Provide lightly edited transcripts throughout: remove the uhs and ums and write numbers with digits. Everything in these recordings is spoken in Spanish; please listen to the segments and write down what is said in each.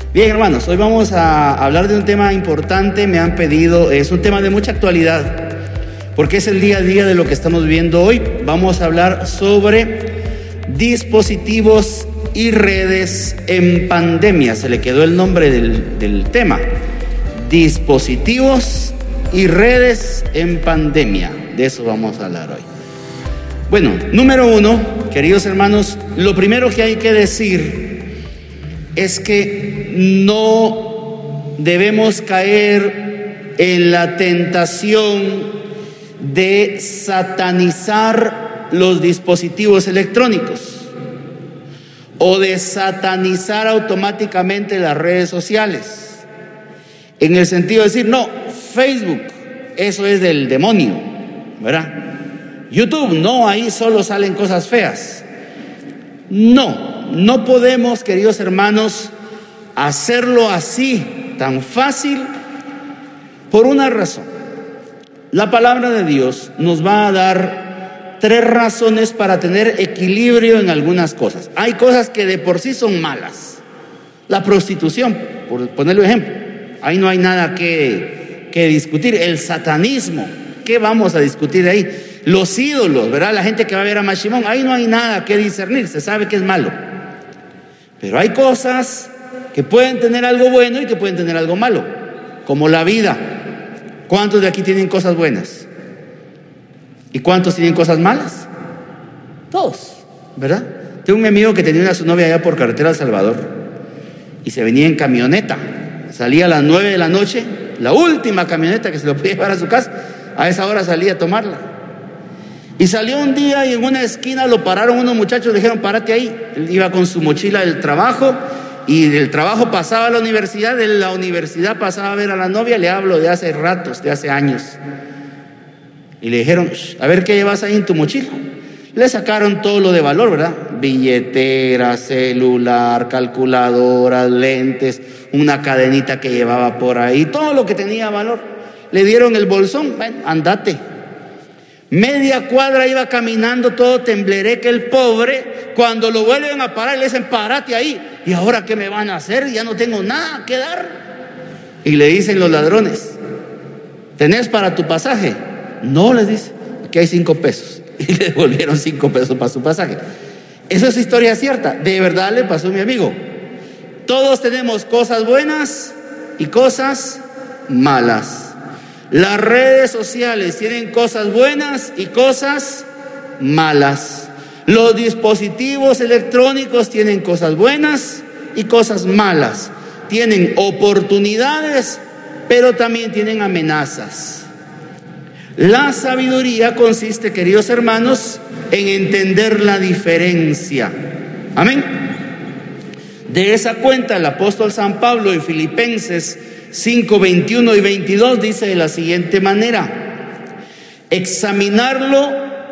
Bien, hermanos, hoy vamos a hablar de un tema importante. Me han pedido, es un tema de mucha actualidad, porque es el día a día de lo que estamos viviendo hoy. Vamos a hablar sobre dispositivos y redes en pandemia. Se le quedó el nombre del tema: dispositivos y redes en pandemia. De eso vamos a hablar hoy. Bueno, número uno, queridos hermanos, lo primero que hay que decir es que no debemos caer en la tentación de satanizar los dispositivos electrónicos o de satanizar automáticamente las redes sociales, en el sentido de decir, no, Facebook, eso es del demonio, ¿verdad? YouTube, no, ahí solo salen cosas feas. No podemos, queridos hermanos, hacerlo así, tan fácil, por una razón. La palabra de Dios nos va a dar 3 razones para tener equilibrio en algunas cosas. Hay cosas que de por sí son malas. La prostitución, por ponerle un ejemplo, ahí no hay nada que discutir. El satanismo, ¿qué vamos a discutir ahí? Los ídolos, ¿verdad? La gente que va a ver a Mashimón, ahí no hay nada que discernir, se sabe que es malo. Pero hay cosas que pueden tener algo bueno y que pueden tener algo malo, como la vida. ¿Cuántos de aquí tienen cosas buenas? ¿Y cuántos tienen cosas malas? Todos, ¿verdad? Tengo un amigo que tenía a su novia allá por carretera El Salvador y se venía en camioneta. Salía a las 9 de la noche, la última camioneta que se lo podía llevar a su casa. A esa hora salía a tomarla. Y salió un día y en una esquina lo pararon unos muchachos, le dijeron, párate ahí. Él iba con su mochila del trabajo y del trabajo pasaba a la universidad, de la universidad pasaba a ver a la novia. Le hablo de hace ratos, de hace años. Y le dijeron, a ver qué llevas ahí en tu mochila. Le sacaron todo lo de valor, ¿verdad? Billetera, celular, calculadora, lentes, una cadenita que llevaba por ahí, todo lo que tenía valor. Le dieron el bolsón, bueno, andate. Media cuadra iba caminando todo temblereque el pobre. Cuando lo vuelven a parar le dicen, párate ahí. ¿Y ahora qué me van a hacer? Ya no tengo nada que dar. Y le dicen los ladrones, ¿tenés para tu pasaje? No, les dice, aquí hay 5 pesos. Y le devolvieron 5 pesos para su pasaje. Eso es historia cierta, de verdad le pasó a mi amigo. Todos tenemos cosas buenas y cosas malas. Las redes sociales tienen cosas buenas y cosas malas. Los dispositivos electrónicos tienen cosas buenas y cosas malas. Tienen oportunidades, pero también tienen amenazas. La sabiduría consiste, queridos hermanos, en entender la diferencia. Amén. De esa cuenta, el apóstol San Pablo en Filipenses 5, 21 y 22 dice de la siguiente manera: examinarlo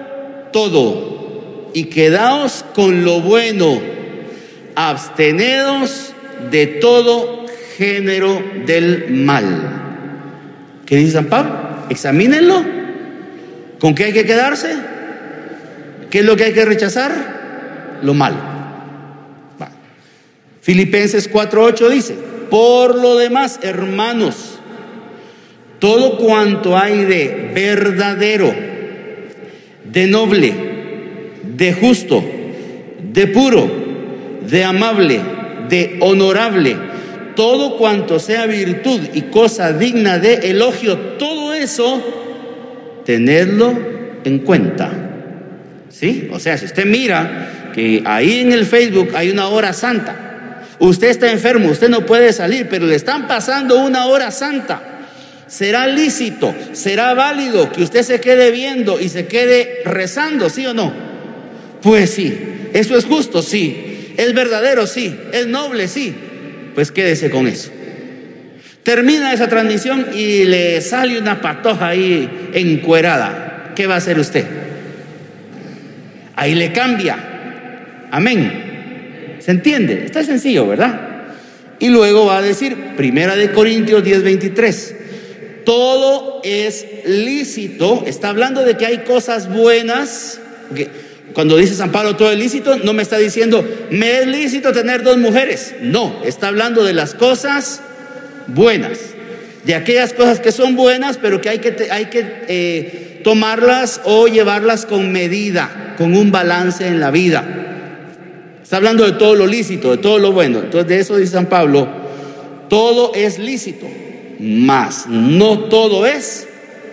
todo y quedaos con lo bueno, abstenedos de todo género del mal. ¿Qué dice San Pablo? Examínenlo. ¿Con qué hay que quedarse? ¿Qué es lo que hay que rechazar? Lo malo. Filipenses 4:8 dice: por lo demás, hermanos, todo cuanto hay de verdadero, de noble, de justo, de puro, de amable, de honorable, todo cuanto sea virtud y cosa digna de elogio, todo eso, tenedlo en cuenta. ¿Sí? O sea, si usted mira que ahí en el Facebook hay una hora santa, usted está enfermo, usted no puede salir, pero le están pasando una hora santa, ¿será lícito, será válido que usted se quede viendo y se quede rezando, sí o no? Pues sí. ¿Eso es justo? Sí. ¿Es verdadero? Sí. ¿Es noble? Sí. Pues quédese con eso. Termina esa transmisión y le sale una patoja ahí encuerada. ¿Qué va a hacer usted? Ahí le cambia. Amén. ¿Se entiende? Está sencillo, ¿verdad? Y luego va a decir, 1 Corintios 10:23, todo es lícito. Está hablando de que hay cosas buenas, Cuando dice San Pablo todo es lícito, no me está diciendo me es lícito tener 2 mujeres. No, está hablando de las cosas buenas, de aquellas cosas que son buenas, pero que hay que tomarlas o llevarlas con medida, con un balance en la vida. Está hablando de todo lo lícito, de todo lo bueno. Entonces de eso dice San Pablo, todo es lícito, mas no todo es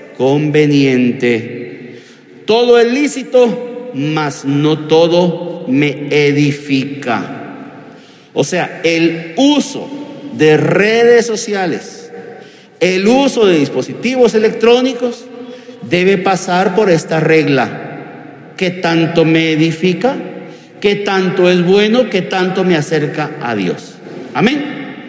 conveniente. Todo es lícito, mas no todo me edifica. O sea, el uso de redes sociales, el uso de dispositivos electrónicos debe pasar por esta regla: ¿qué tanto me edifica? ¿Qué tanto es bueno? ¿Qué tanto me acerca a Dios? Amén.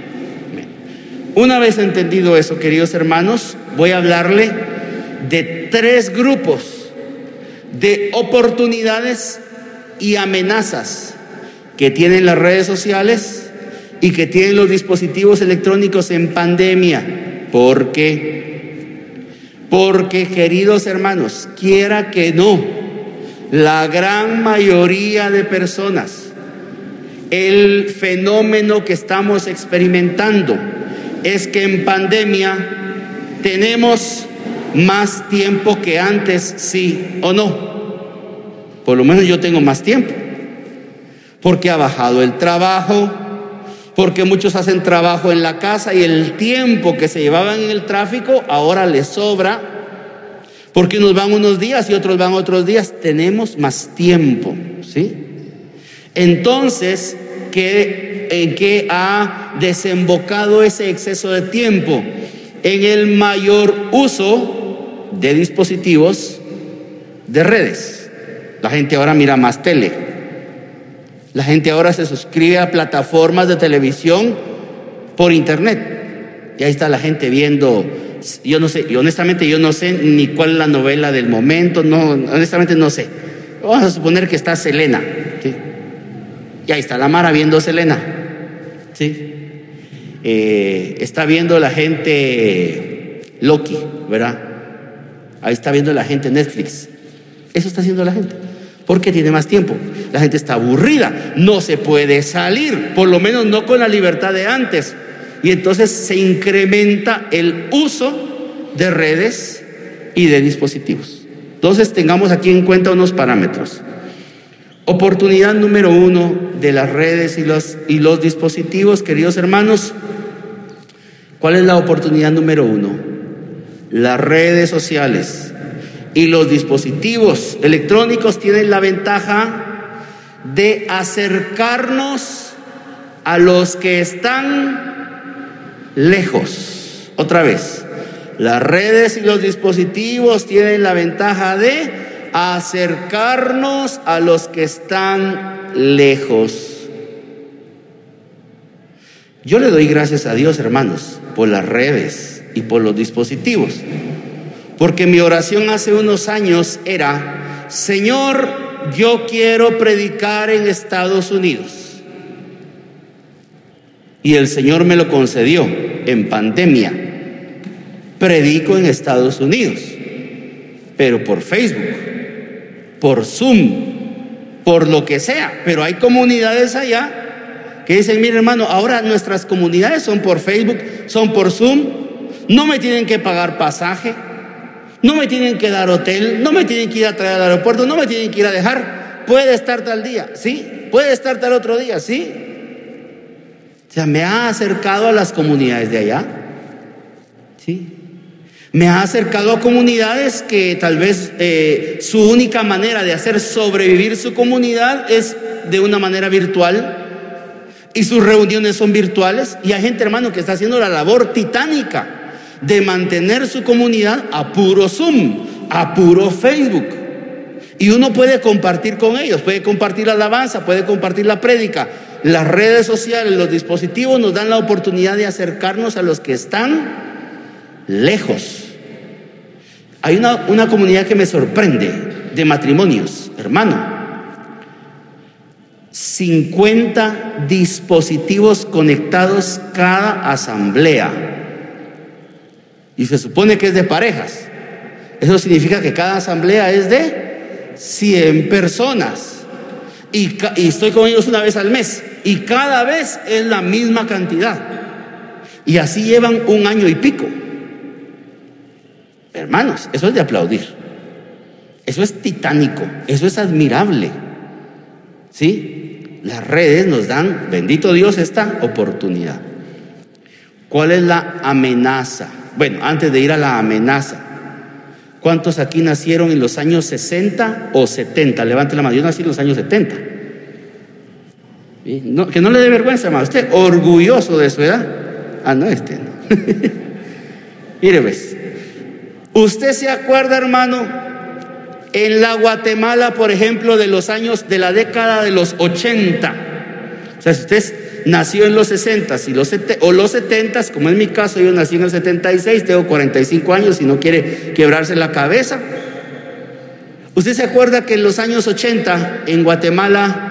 Una vez entendido eso, queridos hermanos, voy a hablarle de 3 grupos de oportunidades y amenazas que tienen las redes sociales y que tienen los dispositivos electrónicos en pandemia. ¿Por qué? Porque, queridos hermanos, quiera que no, la gran mayoría de personas, el fenómeno que estamos experimentando es que en pandemia tenemos más tiempo que antes, sí o no. Por lo menos yo tengo más tiempo, porque ha bajado el trabajo, porque muchos hacen trabajo en la casa y el tiempo que se llevaban en el tráfico ahora les sobra, porque unos van unos días y otros van otros días. Tenemos más tiempo, ¿sí? Entonces, ¿en qué ha desembocado ese exceso de tiempo? En el mayor uso de dispositivos de redes. La gente ahora mira más tele. La gente ahora se suscribe a plataformas de televisión por internet. Y ahí está la gente viendo, yo no sé, y honestamente yo no sé ni cuál es la novela del momento, no, honestamente no sé. Vamos a suponer que está Selena, ¿sí? Y ahí está la Mara viendo Selena, ¿sí? Está viendo la gente Loki, ¿verdad? Ahí está viendo la gente Netflix. Eso está haciendo la gente, porque tiene más tiempo. La gente está aburrida, no se puede salir, por lo menos no con la libertad de antes. Y entonces se incrementa el uso de redes y de dispositivos. Entonces tengamos aquí en cuenta unos parámetros. Oportunidad número 1 de las redes y los dispositivos, queridos hermanos. ¿Cuál es la oportunidad número 1? Las redes sociales y los dispositivos electrónicos tienen la ventaja de acercarnos a los que están lejos. Otra vez, las redes y los dispositivos tienen la ventaja de acercarnos a los que están lejos. Yo le doy gracias a Dios, hermanos, por las redes y por los dispositivos, porque mi oración hace unos años era: Señor, yo quiero predicar en Estados Unidos. Y el Señor me lo concedió en pandemia. Predico en Estados Unidos, pero por Facebook, por Zoom, por lo que sea. Pero hay comunidades allá que dicen: mire, hermano, ahora nuestras comunidades son por Facebook, son por Zoom. No me tienen que pagar pasaje, no me tienen que dar hotel, no me tienen que ir a traer al aeropuerto, no me tienen que ir a dejar. Puede estar tal día, ¿sí? Puede estar tal otro día, ¿sí? O sea, me ha acercado a las comunidades de allá, ¿sí? Me ha acercado a comunidades que tal vez su única manera de hacer sobrevivir su comunidad es de una manera virtual, y sus reuniones son virtuales. Y hay gente, hermano, que está haciendo la labor titánica de mantener su comunidad a puro Zoom, a puro Facebook. Y uno puede compartir con ellos, puede compartir la alabanza, puede compartir la prédica. Las redes sociales, los dispositivos nos dan la oportunidad de acercarnos a los que están lejos. Hay una comunidad que me sorprende de matrimonios, hermano. 50 dispositivos conectados cada asamblea. Y se supone que es de parejas. Eso significa que cada asamblea es de 100 personas. Y estoy con ellos una vez al mes. Y cada vez es la misma cantidad. Y así llevan 1 año y pico. Hermanos, eso es de aplaudir. Eso es titánico. Eso es admirable. ¿Sí? Las redes nos dan, bendito Dios, esta oportunidad. ¿Cuál es la amenaza? Bueno, antes de ir a la amenaza, ¿cuántos aquí nacieron en los años 60 o 70? Levante la mano. Yo nací en los años 70. No, que no le dé vergüenza, hermano. Usted orgulloso de su edad. Ah, no, no. Mire, pues, usted se acuerda, hermano, en la Guatemala, por ejemplo, de la década de los 80. O sea, si usted nació en los 60 o los 70, como en mi caso, yo nací en el 76, tengo 45 años y no quiere quebrarse la cabeza. ¿Usted se acuerda que en los años 80 en Guatemala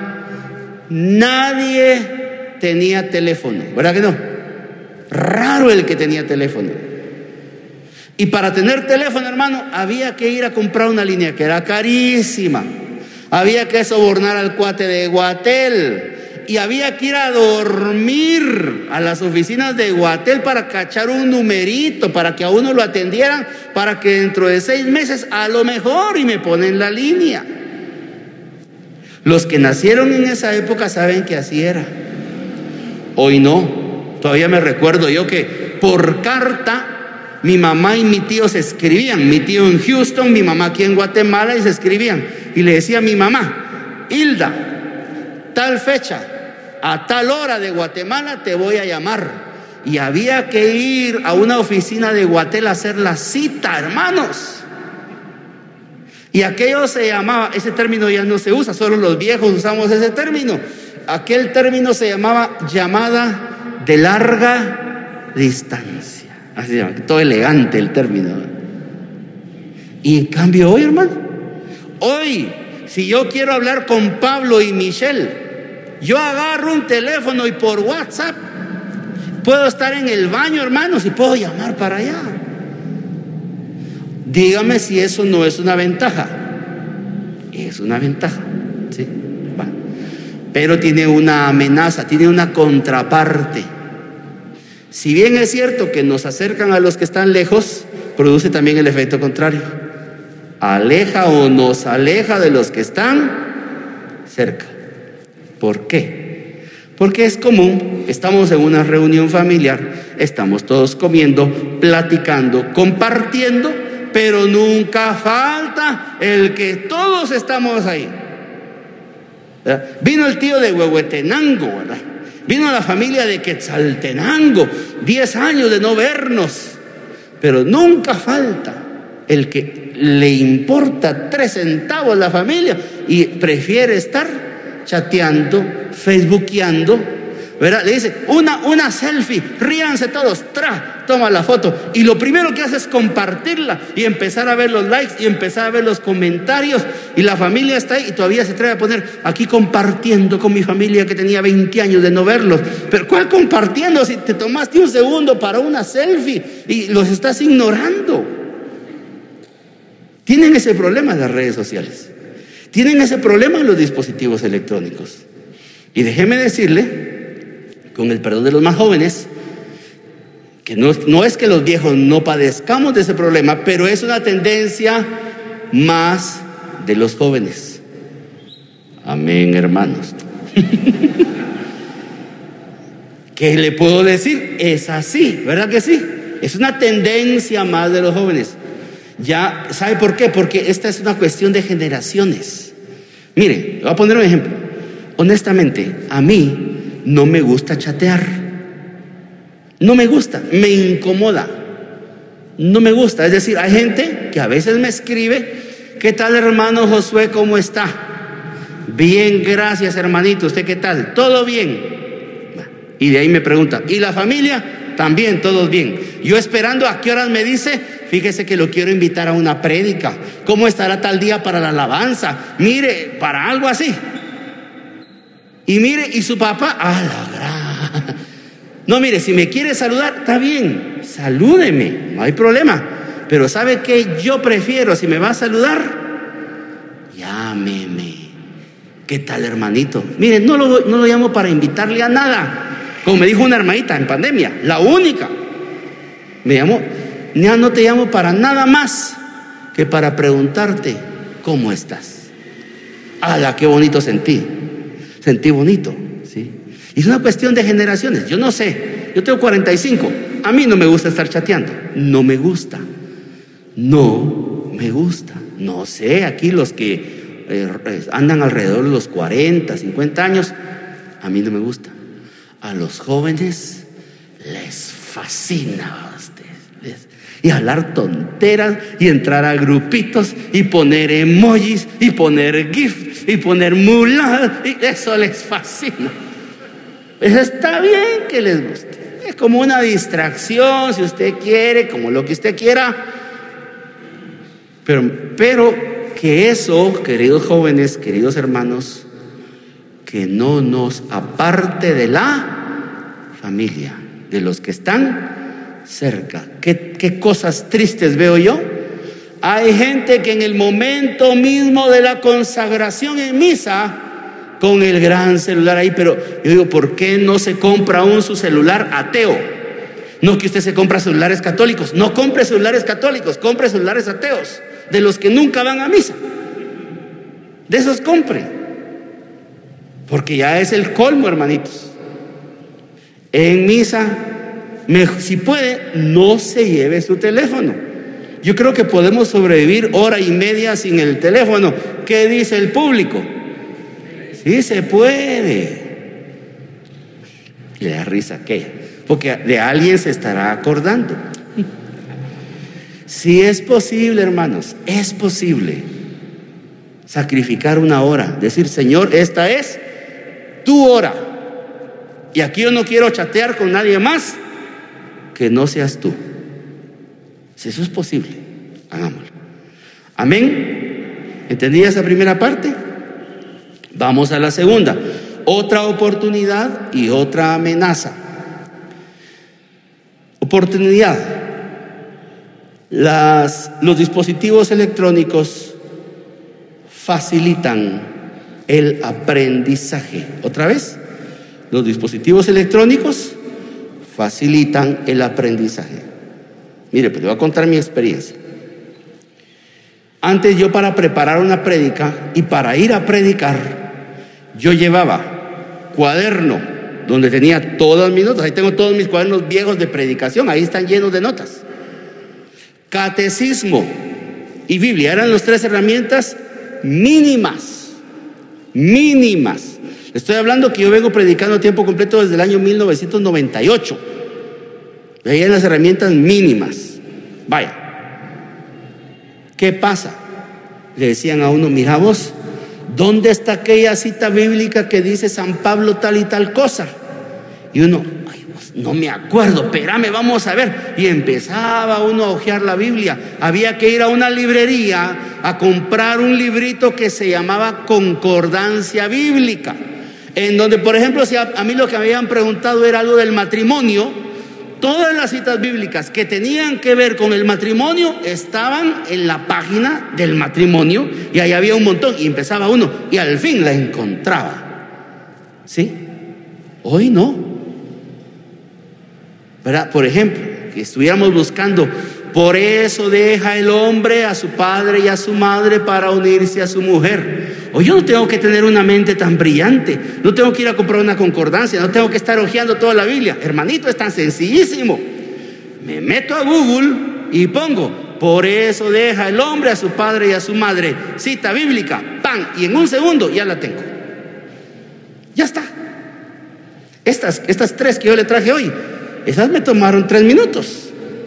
nadie tenía teléfono? ¿Verdad que no? Raro el que tenía teléfono. Y para tener teléfono, hermano, había que ir a comprar una línea que era carísima. Había que sobornar al cuate de Guatel. Y había que ir a dormir a las oficinas de Guatel para cachar un numerito, para que a uno lo atendieran, para que dentro de 6 meses a lo mejor y me ponen la línea. Los que nacieron en esa época saben que así era. Hoy no. Todavía me recuerdo yo que por carta mi mamá y mi tío se escribían. Mi tío en Houston, mi mamá aquí en Guatemala, y se escribían. Y le decía a mi mamá: Hilda, tal fecha, a tal hora de Guatemala te voy a llamar. Y había que ir a una oficina de Guatel a hacer la cita, hermanos. Y aquello se llamaba, ese término ya no se usa, solo los viejos usamos ese término. Aquel término se llamaba llamada de larga distancia. Así se llama, todo elegante el término. Y en cambio hoy, hermano, hoy, si yo quiero hablar con Pablo y Michelle, yo agarro un teléfono y por WhatsApp puedo estar en el baño, hermanos, y puedo llamar para allá. Dígame si eso no es una ventaja. Es una ventaja, ¿sí? Va. Pero tiene una amenaza, tiene una contraparte. Si bien es cierto que nos acercan a los que están lejos, produce también el efecto contrario. Aleja o nos aleja de los que están cerca. ¿Por qué? Porque es común, estamos en una reunión familiar, estamos todos comiendo, platicando, compartiendo, pero nunca falta el que todos estamos ahí. ¿Verdad? Vino el tío de Huehuetenango, ¿verdad? Vino la familia de Quetzaltenango, 10 años de no vernos, pero nunca falta el que le importa 3 centavos la familia y prefiere estar chateando, facebookeando, ¿verdad? Le dice, una selfie, ríanse todos, toma la foto, y lo primero que hace es compartirla y empezar a ver los likes y empezar a ver los comentarios, y la familia está ahí y todavía se atreve a poner aquí compartiendo con mi familia que tenía 20 años de no verlos. Pero ¿cuál compartiendo si te tomaste un segundo para una selfie y los estás ignorando? Tienen ese problema las redes sociales, tienen ese problema los dispositivos electrónicos. Y déjeme decirle, con el perdón de los más jóvenes, que no es que los viejos no padezcamos de ese problema, pero es una tendencia más de los jóvenes. Amén, hermanos. ¿Qué le puedo decir? Es así, ¿verdad que sí? Es una tendencia más de los jóvenes. Ya, ¿sabe por qué? Porque esta es una cuestión de generaciones. Mire, voy a poner un ejemplo. Honestamente, a mí no me gusta chatear. No me gusta, me incomoda. No me gusta. Es decir, hay gente que a veces me escribe: ¿qué tal, hermano Josué? ¿Cómo está? Bien, gracias, hermanito. ¿Usted qué tal? Todo bien. Y de ahí me pregunta: ¿y la familia? También, todos bien. Yo esperando a qué horas me dice: fíjese que lo quiero invitar a una prédica. ¿Cómo estará tal día para la alabanza? Mire, para algo así. Y mire, y su papá, la gran. No, mire, si me quiere saludar, está bien, salúdeme, no hay problema. Pero ¿sabe qué? Yo prefiero, si me va a saludar, llámeme. ¿Qué tal, hermanito? Miren, no lo llamo para invitarle a nada. Como me dijo una hermanita en pandemia, la única. Me llamó, ya no te llamo para nada más que para preguntarte cómo estás. ¡Hala, qué bonito sentí! Sentí bonito, ¿sí? Y es una cuestión de generaciones. Yo no sé, yo tengo 45. A mí no me gusta estar chateando. No me gusta. No me gusta. No sé, aquí los que andan alrededor de los 40, 50 años, a mí no me gusta. A los jóvenes les fascina a ustedes. Y hablar tonteras y entrar a grupitos y poner emojis y poner gifs y poner muladas, y eso les fascina. Pues está bien que les guste. Es como una distracción, si usted quiere, como lo que usted quiera. Pero que eso, queridos jóvenes, queridos hermanos, que no nos aparte de la familia, de los que están cerca. ¿Qué cosas tristes veo yo? Hay gente que en el momento mismo de la consagración en misa, con el gran celular ahí, pero yo digo, ¿por qué no se compra aún su celular ateo? No que usted se compra celulares católicos. No compre celulares católicos, compre celulares ateos, de los que nunca van a misa. De esos compre, porque ya es el colmo, hermanitos. En misa, si puede, no se lleve su teléfono. Yo creo que podemos sobrevivir hora y media sin el teléfono. ¿Qué dice el público? Sí se puede. Y le da risa aquella, porque de alguien se estará acordando. Si es posible, hermanos, es posible sacrificar una hora, decir, Señor, esta es tu hora, y aquí yo no quiero chatear con nadie más que no seas tú. Si eso es posible, hagámoslo. Amén. ¿Entendí esa primera parte? Vamos a la segunda. Otra oportunidad y otra amenaza. Oportunidad. Los dispositivos electrónicos facilitan el aprendizaje. ¿Otra vez? Los dispositivos electrónicos facilitan el aprendizaje. Mire, pues le voy a contar mi experiencia. Antes, yo, para preparar una prédica y para ir a predicar, yo llevaba cuaderno donde tenía todas mis notas. Ahí tengo todos mis cuadernos viejos de predicación, ahí están llenos de notas. Catecismo y Biblia eran las 3 herramientas mínimas. Estoy hablando que yo vengo predicando a tiempo completo desde el año 1998. Ahí eran las herramientas mínimas. Vaya, ¿qué pasa? Le decían a uno, mira vos, ¿dónde está aquella cita bíblica que dice San Pablo tal y tal cosa? Y uno, ay, vos, no me acuerdo, espérame, vamos a ver. Y empezaba uno a hojear la Biblia. Había que ir a una librería a comprar un librito que se llamaba Concordancia Bíblica, en donde, por ejemplo, si a mí lo que me habían preguntado era algo del matrimonio, todas las citas bíblicas que tenían que ver con el matrimonio estaban en la página del matrimonio, y ahí había un montón, y empezaba uno y al fin la encontraba. ¿Sí? Hoy no, ¿verdad? Por ejemplo, que estuviéramos buscando, por eso deja el hombre a su padre y a su madre para unirse a su mujer. Hoy yo no tengo que tener una mente tan brillante, no tengo que ir a comprar una concordancia, no tengo que estar hojeando toda la Biblia. Hermanito, es tan sencillísimo. Me meto a Google y pongo, por eso deja el hombre a su padre y a su madre, cita bíblica, ¡pam! Y en un segundo ya la tengo. Ya está. Estas 3 que yo le traje hoy, esas me tomaron 3 minutos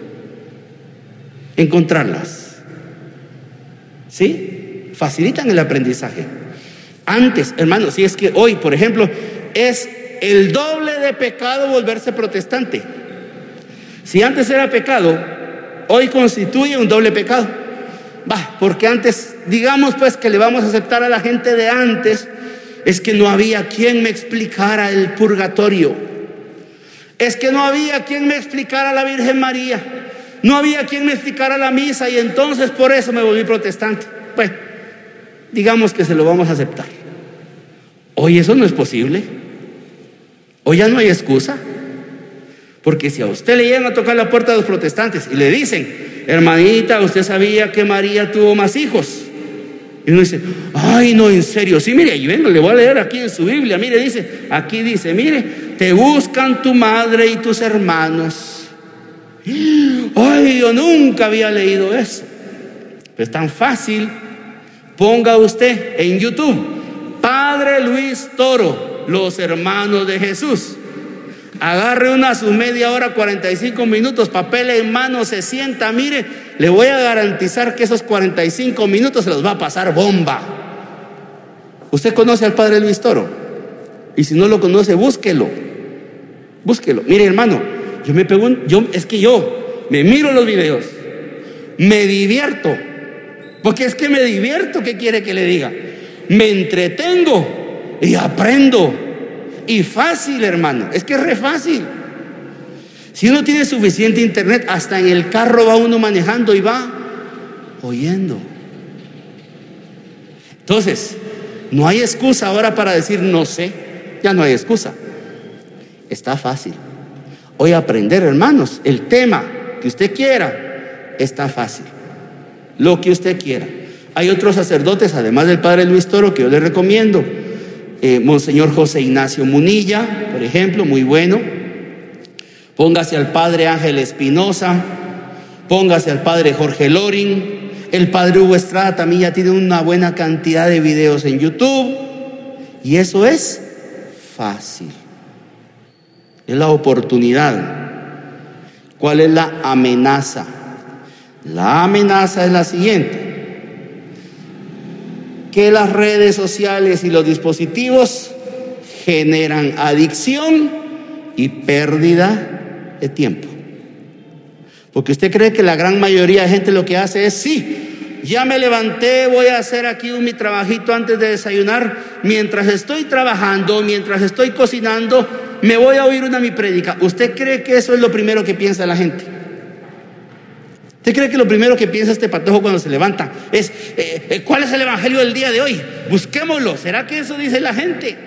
encontrarlas. ¿Sí? Facilitan el aprendizaje. Antes, hermanos, si es que hoy, por ejemplo, es el doble de pecado volverse protestante. Si antes era pecado, hoy constituye un doble pecado. Porque antes, digamos pues que le vamos a aceptar a la gente de antes, es que no había quien me explicara el purgatorio, es que no había quien me explicara la Virgen María, no había quien me explicara la misa, y entonces por eso me volví protestante. Pues digamos que se lo vamos a aceptar. Hoy eso no es posible. Hoy ya no hay excusa. Porque si a usted le llegan a tocar la puerta de los protestantes y le dicen: hermanita, ¿usted sabía que María tuvo más hijos? Y uno dice: ay, no, en serio. Sí, mire, y vengo, le voy a leer aquí en su Biblia. Mire, aquí dice, mire, te buscan tu madre y tus hermanos. Ay, yo nunca había leído eso. Pero es tan fácil. Ponga usted en YouTube: Padre Luis Toro, los hermanos de Jesús. Agarre su media hora, 45 minutos, papel en mano, se sienta, mire, le voy a garantizar que esos 45 minutos se los va a pasar bomba. ¿Usted conoce al Padre Luis Toro? Y si no lo conoce, búsquelo. Mire, hermano, yo me miro los videos, me divierto, porque es que me divierto. ¿Qué quiere que le diga? Me entretengo y aprendo. Y fácil, hermano, es que es re fácil. Si uno tiene suficiente internet, hasta en el carro va uno manejando y va oyendo. Entonces, no hay excusa ahora para decir no sé. Ya no hay excusa. Está fácil. Hoy aprender, hermanos, el tema que usted quiera, está fácil. Lo que usted quiera. Hay otros sacerdotes, además del Padre Luis Toro, que yo les recomiendo. Monseñor José Ignacio Munilla, por ejemplo, muy bueno. Póngase al Padre Ángel Espinosa, póngase al Padre Jorge Loring. El Padre Hugo Estrada también ya tiene una buena cantidad de videos en YouTube. Y eso es fácil. Es la oportunidad. ¿Cuál es la amenaza? La amenaza es la siguiente: que las redes sociales y los dispositivos generan adicción y pérdida de tiempo. Porque usted cree que la gran mayoría de gente lo que hace es: sí, ya me levanté, voy a hacer aquí mi trabajito antes de desayunar, mientras estoy trabajando, mientras estoy cocinando, me voy a oír mi prédica. ¿Usted cree que eso es lo primero que piensa la gente? ¿Usted cree que lo primero que piensa este patojo cuando se levanta es cuál es el evangelio del día de hoy? Busquémoslo. ¿Será que eso dice la gente?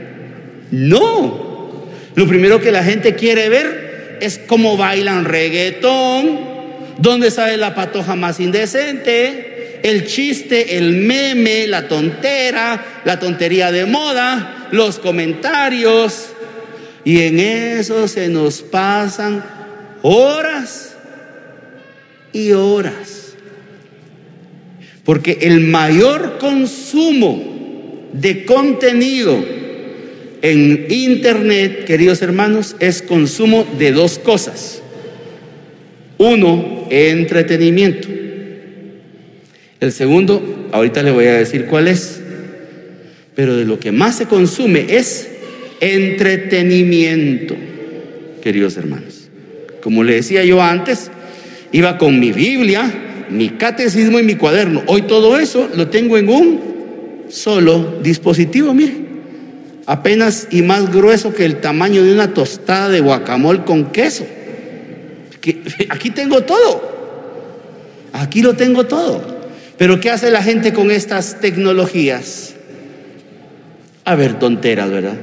No. Lo primero que la gente quiere ver es cómo bailan reggaetón, dónde sale la patoja más indecente, el chiste, el meme, la tontera, la tontería de moda, los comentarios. Y en eso se nos pasan horas y horas. Porque el mayor consumo de contenido en internet, queridos hermanos, es consumo de dos cosas. Uno, entretenimiento. El segundo, ahorita le voy a decir cuál es. Pero de lo que más se consume es entretenimiento, queridos hermanos. Como le decía yo antes, iba con mi Biblia, mi catecismo y mi cuaderno. Hoy todo eso lo tengo en un solo dispositivo, mire. Apenas y más grueso que el tamaño de una tostada de guacamole con queso. Aquí tengo todo. Aquí lo tengo todo. Pero ¿qué hace la gente con estas tecnologías? A ver tonteras, ¿verdad?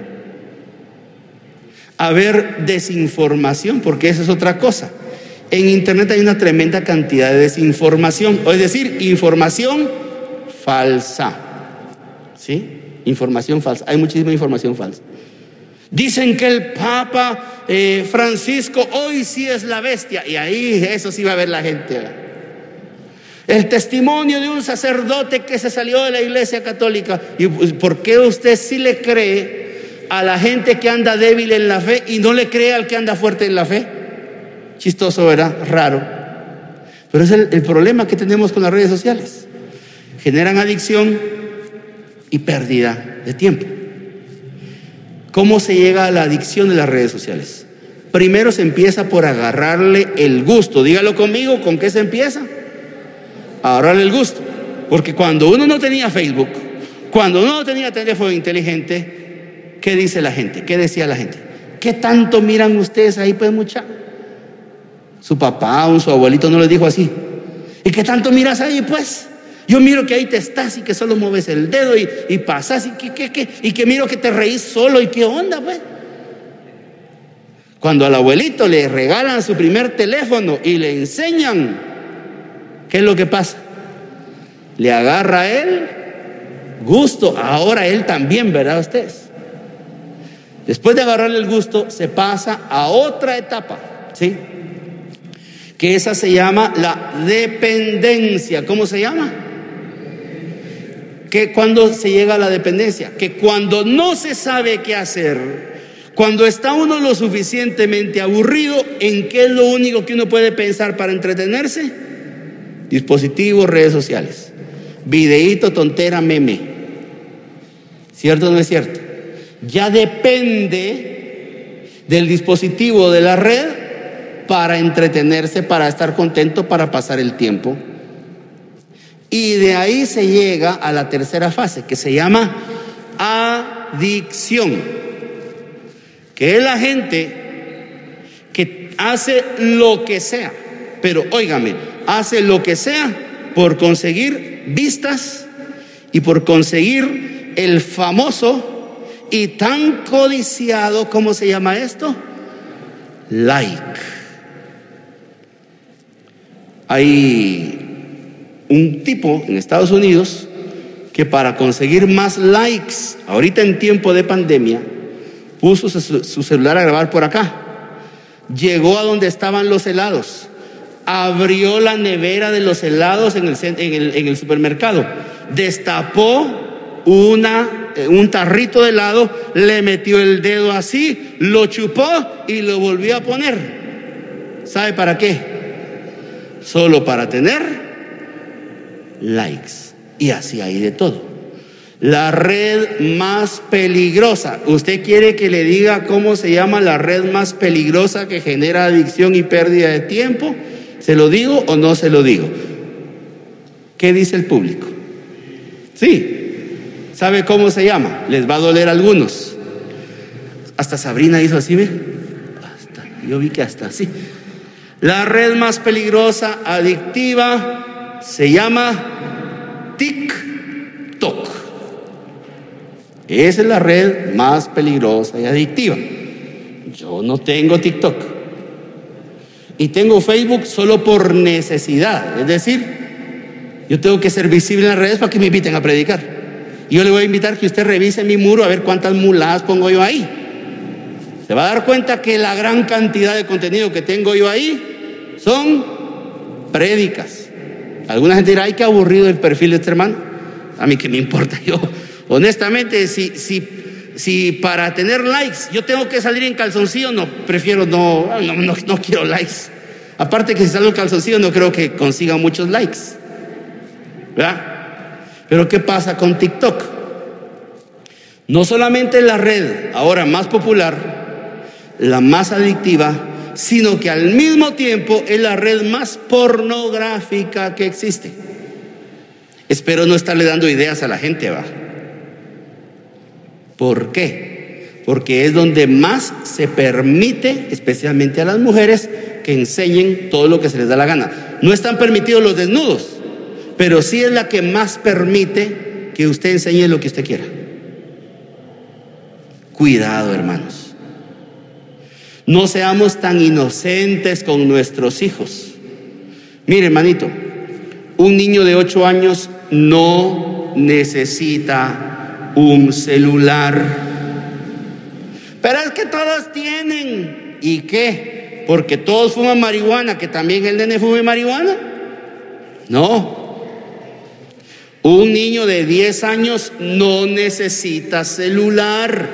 A ver desinformación, porque esa es otra cosa. En internet hay una tremenda cantidad de desinformación, es decir, información falsa. ¿Sí? Información falsa. Hay muchísima información falsa. Dicen que el Papa Francisco hoy sí es la bestia, y ahí eso sí va a ver la gente, ¿verdad? El testimonio de un sacerdote que se salió de la Iglesia Católica. ¿Y por qué usted sí le cree a la gente que anda débil en la fe y no le cree al que anda fuerte en la fe? Chistoso, ¿verdad? Raro. Pero es el problema que tenemos con las redes sociales. Generan adicción y pérdida de tiempo. ¿Cómo se llega a la adicción de las redes sociales? Primero se empieza por agarrarle el gusto. Dígalo conmigo, ¿con qué se empieza? Agarrarle el gusto. Porque cuando uno no tenía Facebook, cuando uno no tenía teléfono inteligente, ¿qué dice la gente? ¿Qué decía la gente? ¿Qué tanto miran ustedes ahí, pues, muchachos? Su papá o su abuelito no les dijo así. ¿Y qué tanto miras ahí, pues? Yo miro que ahí te estás y que solo mueves el dedo y pasas y que miro que te reís solo y qué onda, pues. Cuando al abuelito le regalan su primer teléfono y le enseñan, ¿qué es lo que pasa? Le agarra a él gusto, ahora él también, ¿verdad ustedes? Después de agarrarle el gusto, se pasa a otra etapa, ¿sí? Que esa se llama la dependencia. ¿Cómo se llama? Que cuando se llega a la dependencia, que cuando no se sabe qué hacer, cuando está uno lo suficientemente aburrido, ¿en qué es lo único que uno puede pensar para entretenerse? Dispositivos, redes sociales, videíto, tontera, meme. ¿Cierto o no es cierto? Ya depende del dispositivo de la red para entretenerse, para estar contento, para pasar el tiempo. Y de ahí se llega a la tercera fase, que se llama adicción, que es la gente que hace lo que sea, pero óigame, hace lo que sea por conseguir vistas y por conseguir el famoso y tan codiciado, ¿cómo se llama esto? Like. Hay un tipo en Estados Unidos que para conseguir más likes, ahorita en tiempo de pandemia, puso su celular a grabar por acá. Llegó a donde estaban los helados, abrió la nevera de los helados en el supermercado, destapó un tarrito de helado, le metió el dedo así, lo chupó y lo volvió a poner. ¿Sabe para qué? Solo para tener likes. Y así hay de todo. La red más peligrosa. ¿Usted quiere que le diga cómo se llama la red más peligrosa que genera adicción y pérdida de tiempo? ¿Se lo digo o no se lo digo? ¿Qué dice el público? Sí. ¿Sabe cómo se llama? Les va a doler a algunos. Hasta Sabrina hizo así, ¿ve? Yo vi que hasta así. La red más peligrosa, adictiva, se llama TikTok. Esa es la red más peligrosa y adictiva. Yo no tengo TikTok. Y tengo Facebook solo por necesidad. Es decir, yo tengo que ser visible en las redes para que me inviten a predicar. Y yo le voy a invitar que usted revise mi muro a ver cuántas muladas pongo yo ahí. Se va a dar cuenta que la gran cantidad de contenido que tengo yo ahí son prédicas. Alguna gente dirá, ay, qué aburrido el perfil de este hermano. A mí qué me importa. Yo, honestamente, si para tener likes yo tengo que salir en calzoncillo, no, prefiero no quiero likes. Aparte que si salgo en calzoncillo no creo que consiga muchos likes, ¿verdad? Pero ¿qué pasa con TikTok? No solamente la red ahora más popular, la más adictiva, sino que al mismo tiempo es la red más pornográfica que existe. Espero no estarle dando ideas a la gente, ¿va? ¿Por qué? Porque es donde más se permite, especialmente a las mujeres, que enseñen todo lo que se les da la gana. No están permitidos los desnudos, pero sí es la que más permite que usted enseñe lo que usted quiera. Cuidado, hermanos. No seamos tan inocentes con nuestros hijos. Mire, hermanito, un niño de 8 años no necesita un celular. Pero es que todos tienen. ¿Y qué? Porque todos fuman marihuana, que también el nene fume marihuana. No. Un niño de 10 años no necesita celular.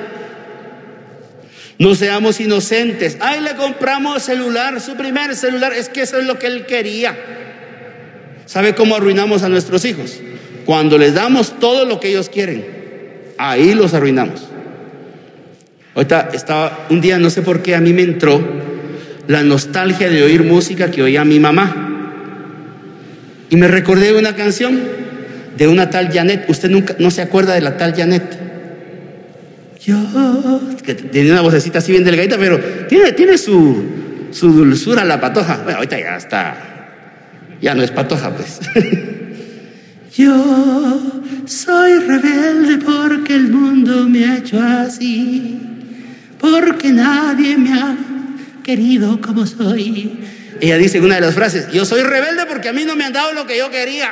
No seamos inocentes. Ay, le compramos celular, su primer celular. Es que eso es lo que él quería. ¿Sabe cómo arruinamos a nuestros hijos? Cuando les damos todo lo que ellos quieren. Ahí los arruinamos. Ahorita estaba, un día no sé por qué a mí me entró la nostalgia de oír música que oía mi mamá. Y me recordé de una canción de una tal Janet. Usted nunca, no se acuerda de la tal Janet. Yo, que tenía una vocecita así bien delgadita, pero tiene su dulzura la patoja. Bueno, ahorita ya está, ya no es patoja, pues. Yo soy rebelde porque el mundo me ha hecho así, porque nadie me ha querido como soy. Ella dice en una de las frases: yo soy rebelde porque a mí no me han dado lo que yo quería.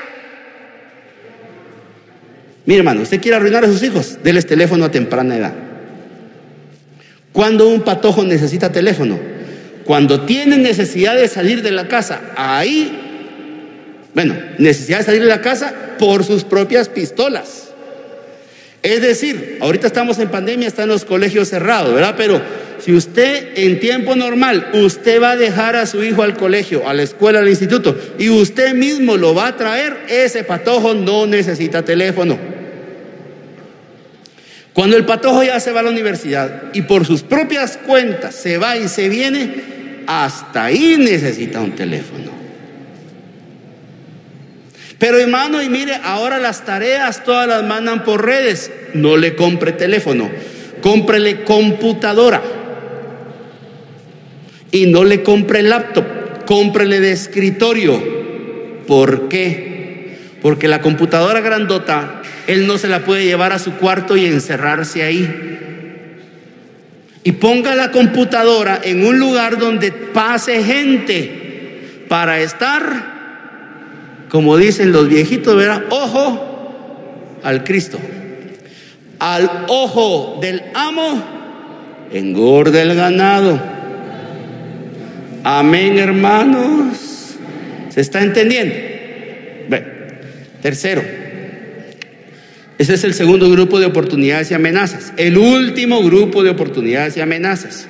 Mire, hermano, usted quiere arruinar a sus hijos, déles teléfono a temprana edad. ¿Cuándo un patojo necesita teléfono? Cuando tiene necesidad de salir de la casa. Necesidad de salir de la casa por sus propias pistolas. Es decir, ahorita estamos en pandemia, están los colegios cerrados, ¿verdad? Pero si usted en tiempo normal, usted va a dejar a su hijo al colegio, a la escuela, al instituto, y usted mismo lo va a traer, ese patojo no necesita teléfono. Cuando el patojo ya se va a la universidad y por sus propias cuentas se va y se viene, hasta ahí necesita un teléfono. Pero hermano, y mire, ahora las tareas todas las mandan por redes. No le compre teléfono, cómprele computadora. Y no le compre laptop, cómprele de escritorio. ¿Por qué? Porque la computadora grandota, él no se la puede llevar a su cuarto y encerrarse ahí. Y ponga la computadora en un lugar donde pase gente para estar, como dicen los viejitos, ¿verdad? Ojo al Cristo. Al ojo del amo engorda el ganado. Amén, hermanos. ¿Se está entendiendo? Bueno, tercero, ese es el segundo grupo de oportunidades y amenazas. El último grupo de oportunidades y amenazas.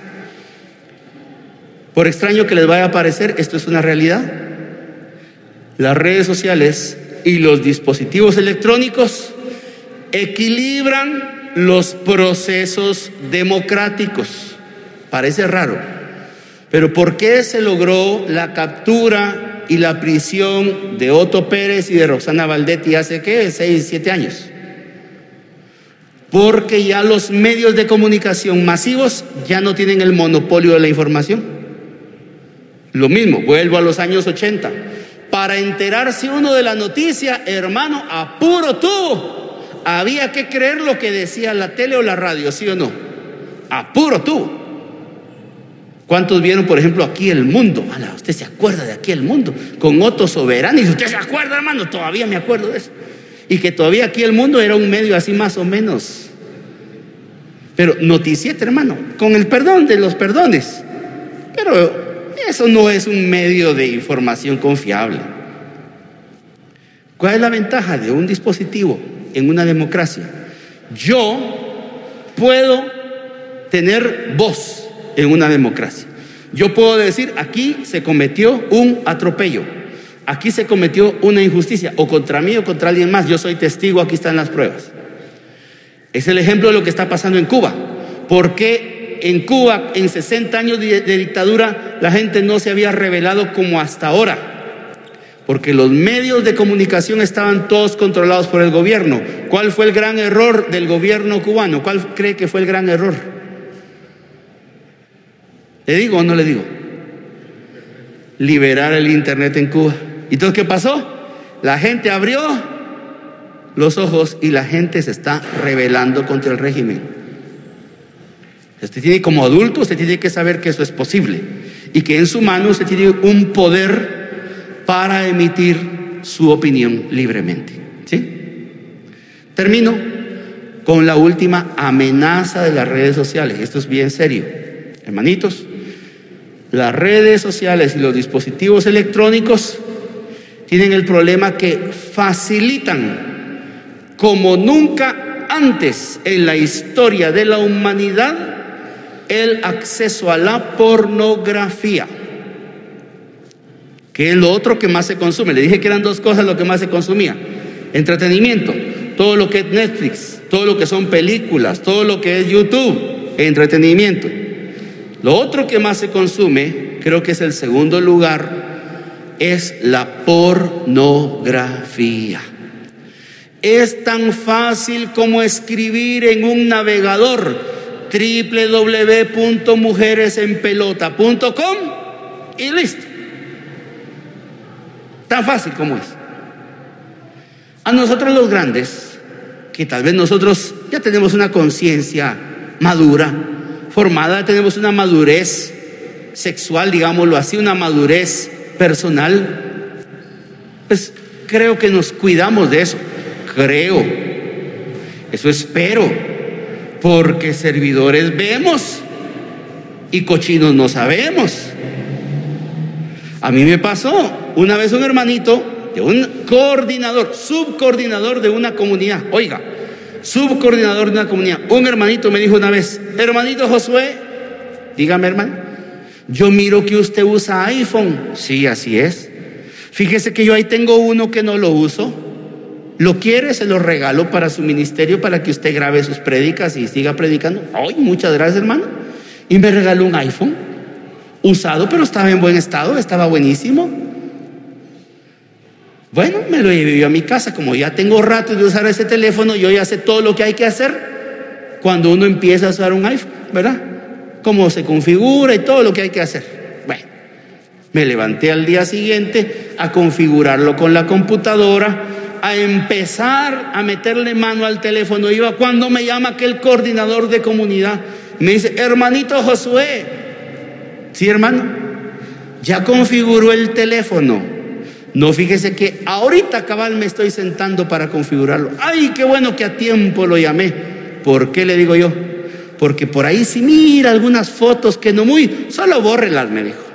Por extraño que les vaya a parecer, esto es una realidad. Las redes sociales y los dispositivos electrónicos equilibran los procesos democráticos. Parece raro, pero ¿por qué se logró la captura y la prisión de Otto Pérez y de Roxana Valdetti hace 6, 7 años? Porque ya los medios de comunicación masivos ya no tienen el monopolio de la información. Lo mismo, vuelvo a los años 80. Para enterarse uno de la noticia, hermano, a puro tubo, había que creer lo que decía la tele o la radio, ¿sí o no? A puro tubo. ¿Cuántos vieron, por ejemplo, Aquí el Mundo? ¿Usted se acuerda de Aquí el Mundo? Con Otto Soberano. ¿Y usted se acuerda, hermano? Todavía me acuerdo de eso. Y que todavía Aquí el Mundo era un medio así más o menos. Pero noticieta, hermano, con el perdón de los perdones. Pero eso no es un medio de información confiable. ¿Cuál es la ventaja de un dispositivo en una democracia? Yo puedo tener voz en una democracia. Yo puedo decir: aquí se cometió un atropello, aquí se cometió una injusticia, o contra mí o contra alguien más. Yo soy testigo, aquí están las pruebas. Es el ejemplo de lo que está pasando en Cuba. ¿Por qué en Cuba, en 60 años de dictadura, la gente no se había rebelado como hasta ahora? Porque los medios de comunicación estaban todos controlados por el gobierno. ¿Cuál fue el gran error del gobierno cubano? ¿Cuál cree que fue el gran error? ¿Le digo o no le digo? Liberar el internet en Cuba. ¿Y entonces qué pasó? La gente abrió los ojos y la gente se está rebelando contra el régimen. Usted tiene, como adulto, usted tiene que saber que eso es posible y que en su mano usted tiene un poder para emitir su opinión libremente. ¿Sí? Termino con la última amenaza de las redes sociales. Esto es bien serio, hermanitos. Las redes sociales y los dispositivos electrónicos tienen el problema que facilitan como nunca antes en la historia de la humanidad el acceso a la pornografía, que es lo otro que más se consume. Le dije que eran dos cosas lo que más se consumía: entretenimiento, todo lo que es Netflix, todo lo que son películas, todo lo que es YouTube, entretenimiento. Lo otro que más se consume, creo que es el segundo lugar, es la pornografía. Es tan fácil como escribir en un navegador www.mujeresenpelota.com y listo. Tan fácil como es. A nosotros los grandes, que tal vez nosotros ya tenemos una conciencia madura, formada, tenemos una madurez sexual, digámoslo así, una madurez personal, pues creo que nos cuidamos de eso. Creo, eso espero, porque servidores vemos y cochinos no sabemos. A mí me pasó una vez un hermanito de un coordinador, subcoordinador de una comunidad, oiga, subcoordinador de una comunidad, un hermanito me dijo una vez: hermanito Josué, dígame hermano, yo miro que usted usa iPhone. Sí, así es. Fíjese que yo ahí tengo uno que no lo uso. ¿Lo quiere? Se lo regalo para su ministerio, para que usted grabe sus prédicas y siga predicando. Ay, muchas gracias hermano. Y me regaló un iPhone usado, pero estaba en buen estado, estaba buenísimo. Bueno, me lo llevé yo a mi casa. Como ya tengo rato de usar ese teléfono, yo ya sé todo lo que hay que hacer cuando uno empieza a usar un iPhone, ¿verdad? Cómo se configura y todo lo que hay que hacer. Bueno, me levanté al día siguiente a configurarlo con la computadora, a empezar a meterle mano al teléfono. Iba cuando me llama aquel coordinador de comunidad, me dice: hermanito Josué. Sí, hermano, ya configuró el teléfono. No, fíjese que ahorita cabal me estoy sentando para configurarlo. Ay, qué bueno que a tiempo lo llamé. ¿Por qué le digo yo? Porque por ahí si mira algunas fotos que no muy, solo bórrelas, me dijo.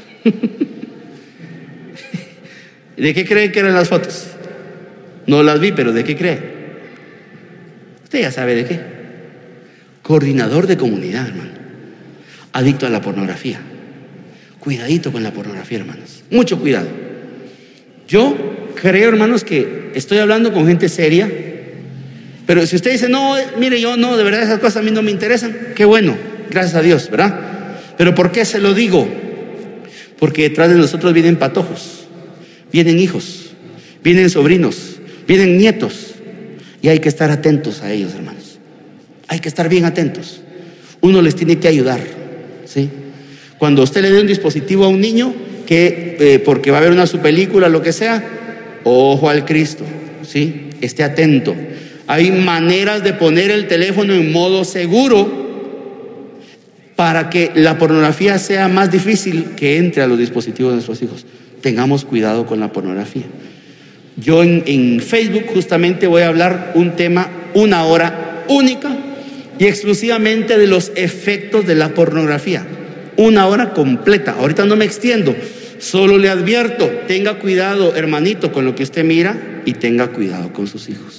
¿De qué cree que eran las fotos? No las vi, pero ¿de qué cree? Usted ya sabe de qué. Coordinador de comunidad, hermano. Adicto a la pornografía. Cuidadito con la pornografía, hermanos. Mucho cuidado. Yo creo, hermanos, que estoy hablando con gente seria. Pero si usted dice: no, mire, yo no, de verdad esas cosas a mí no me interesan, qué bueno, gracias a Dios, ¿verdad? Pero ¿por qué se lo digo? Porque detrás de nosotros vienen patojos, vienen hijos, vienen sobrinos, vienen nietos, y hay que estar atentos a ellos, hermanos. Hay que estar bien atentos. Uno les tiene que ayudar, ¿sí? Cuando usted le dé un dispositivo a un niño, que porque va a ver una su película, lo que sea, ojo al Cristo, ¿sí? Esté atento. Hay maneras de poner el teléfono en modo seguro para que la pornografía sea más difícil que entre a los dispositivos de nuestros hijos. Tengamos cuidado con la pornografía. Yo en Facebook justamente voy a hablar un tema, una hora única y exclusivamente de los efectos de la pornografía. Una hora completa. Ahorita no me extiendo, solo le advierto: tenga cuidado, hermanito, con lo que usted mira, y tenga cuidado con sus hijos.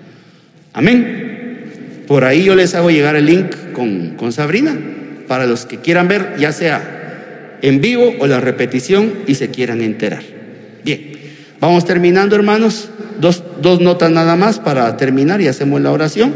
Amén. Por ahí yo les hago llegar el link con Sabrina para los que quieran ver, ya sea en vivo o la repetición y se quieran enterar. Bien, vamos terminando, hermanos. Dos notas nada más para terminar y hacemos la oración.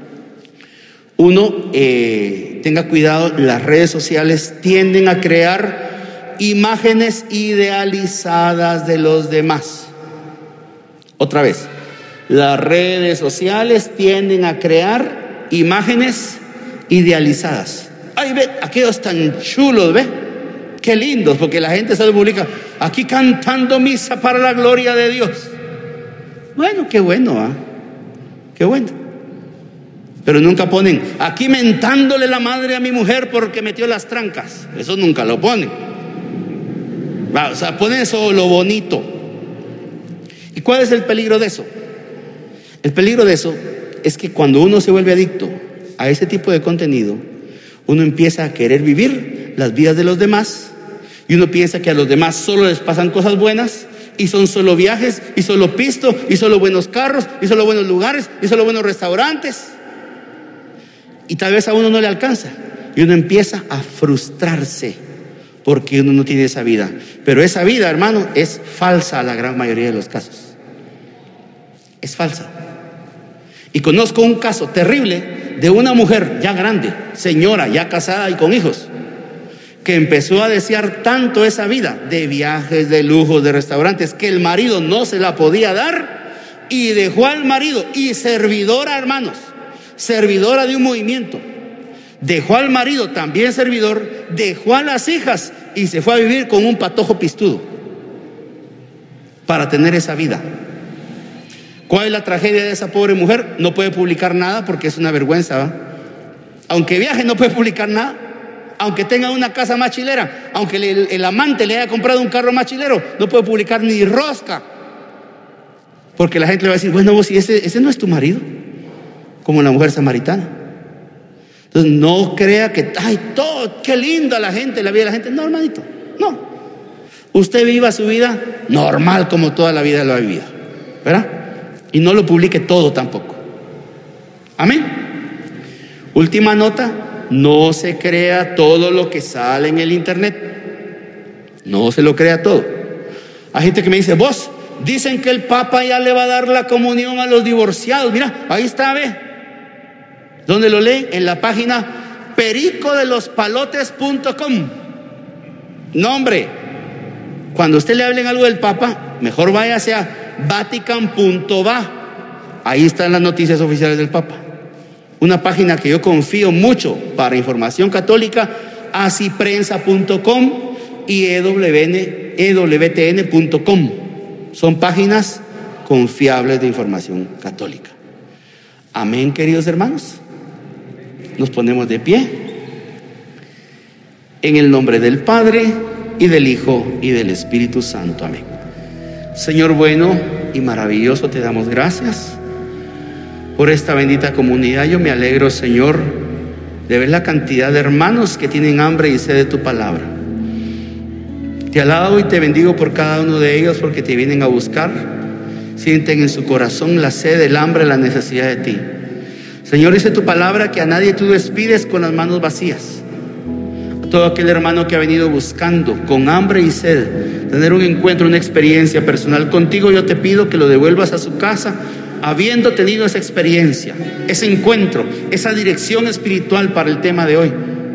Uno, tenga cuidado, las redes sociales tienden a crear imágenes idealizadas de los demás. Otra vez, las redes sociales tienden a crear imágenes idealizadas. Ay, ve, aquellos tan chulos, ve, qué lindos, porque la gente se publica aquí cantando misa para la gloria de Dios. Bueno, qué bueno, ¿ah? Qué bueno. Pero nunca ponen aquí mentándole la madre a mi mujer porque metió las trancas. Eso nunca lo ponen. O sea, ponen eso lo bonito. ¿Y cuál es el peligro de eso? El peligro de eso es que cuando uno se vuelve adicto a ese tipo de contenido, uno empieza a querer vivir las vidas de los demás y uno piensa que a los demás solo les pasan cosas buenas y son solo viajes y solo pisto y solo buenos carros y solo buenos lugares y solo buenos restaurantes. Y tal vez a uno no le alcanza y uno empieza a frustrarse porque uno no tiene esa vida. Pero esa vida, hermano, es falsa a la gran mayoría de los casos. Es falsa. Y conozco un caso terrible de una mujer ya grande, señora, ya casada y con hijos, que empezó a desear tanto esa vida de viajes, de lujos, de restaurantes, que el marido no se la podía dar y dejó al marido. Y servidora, hermanos, servidora de un movimiento, dejó al marido también servidor, dejó a las hijas y se fue a vivir con un patojo pistudo para tener esa vida. ¿Cuál es la tragedia de esa pobre mujer? No puede publicar nada porque es una vergüenza, ¿va? Aunque viaje no puede publicar nada. Aunque tenga una casa más chilera, aunque el amante le haya comprado un carro más chilero, no puede publicar ni rosca. Porque la gente le va a decir, bueno, vos, si ese no es tu marido, como la mujer samaritana. Entonces no crea que, ay, todo, qué linda la gente, la vida de la gente. No, hermanito, no. Usted viva su vida normal como toda la vida lo ha vivido, ¿verdad? Y no lo publique todo tampoco. Amén. Última nota, no se crea todo lo que sale en el internet. No se lo crea todo. Hay gente que me dice, vos, dicen que el Papa ya le va a dar la comunión a los divorciados. Mira, ahí está, ve. ¿Dónde lo leen? En la página pericodelospalotes.com. No, hombre, cuando usted le hablen algo del Papa, mejor váyase a vatican.va. Ahí están las noticias oficiales del Papa. Una página que yo confío mucho para información católica, asiprensa.com y ewtn.com. Son páginas confiables de información católica. Amén, queridos hermanos. Nos ponemos de pie. En el nombre del Padre, y del Hijo, y del Espíritu Santo. Amén. Señor bueno y maravilloso, te damos gracias por esta bendita comunidad. Yo me alegro, Señor, de ver la cantidad de hermanos que tienen hambre y sed de tu palabra. Te alabo y te bendigo por cada uno de ellos, porque te vienen a buscar. Sienten en su corazón la sed, el hambre, la necesidad de ti. Señor, dice tu palabra que a nadie tú despides con las manos vacías. A todo aquel hermano que ha venido buscando con hambre y sed tener un encuentro, una experiencia personal contigo, yo te pido que lo devuelvas a su casa habiendo tenido esa experiencia, ese encuentro, esa dirección espiritual para el tema de hoy.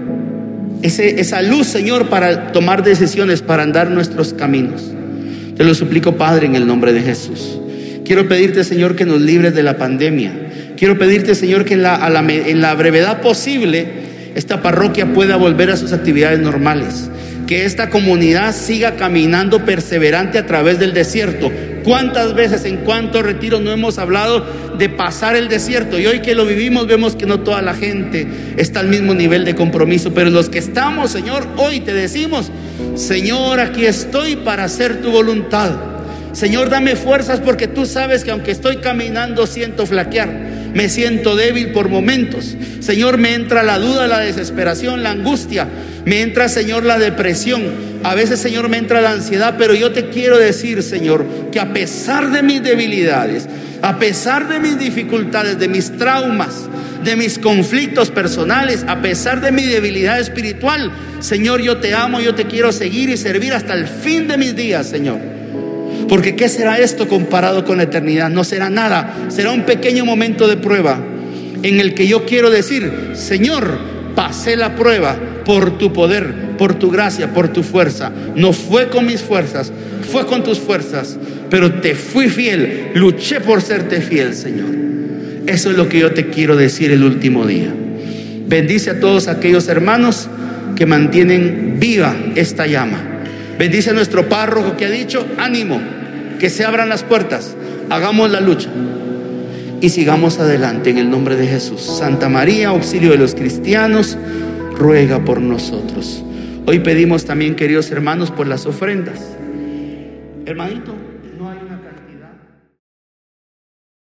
Esa luz, Señor, para tomar decisiones, para andar nuestros caminos. Te lo suplico, Padre, en el nombre de Jesús. Quiero pedirte, Señor, que nos libres de la pandemia. Quiero pedirte, Señor, que en la brevedad posible esta parroquia pueda volver a sus actividades normales. Que esta comunidad siga caminando perseverante a través del desierto. ¿Cuántas veces, en cuántos retiros no hemos hablado de pasar el desierto? Y hoy que lo vivimos vemos que no toda la gente está al mismo nivel de compromiso. Pero los que estamos, Señor, hoy te decimos, Señor, aquí estoy para hacer tu voluntad. Señor, dame fuerzas, porque tú sabes que aunque estoy caminando siento flaquear. Me siento débil por momentos. Señor, me entra la duda, la desesperación, la angustia. Me entra, Señor, la depresión. A veces, Señor, me entra la ansiedad. Pero yo te quiero decir, Señor, que a pesar de mis debilidades, a pesar de mis dificultades, de mis traumas, de mis conflictos personales, a pesar de mi debilidad espiritual, Señor, yo te amo, yo te quiero seguir y servir hasta el fin de mis días, Señor. Porque ¿qué será esto comparado con la eternidad? No será nada, será un pequeño momento de prueba en el que yo quiero decir, Señor, pasé la prueba por tu poder, por tu gracia, por tu fuerza. No fue con mis fuerzas, fue con tus fuerzas, pero te fui fiel, luché por serte fiel, Señor. Eso es lo que yo te quiero decir el último día. Bendice a todos aquellos hermanos que mantienen viva esta llama. Bendice a nuestro párroco que ha dicho, ánimo, que se abran las puertas, hagamos la lucha y sigamos adelante en el nombre de Jesús. Santa María, auxilio de los cristianos, ruega por nosotros. Hoy pedimos también, queridos hermanos, por las ofrendas. Hermanito.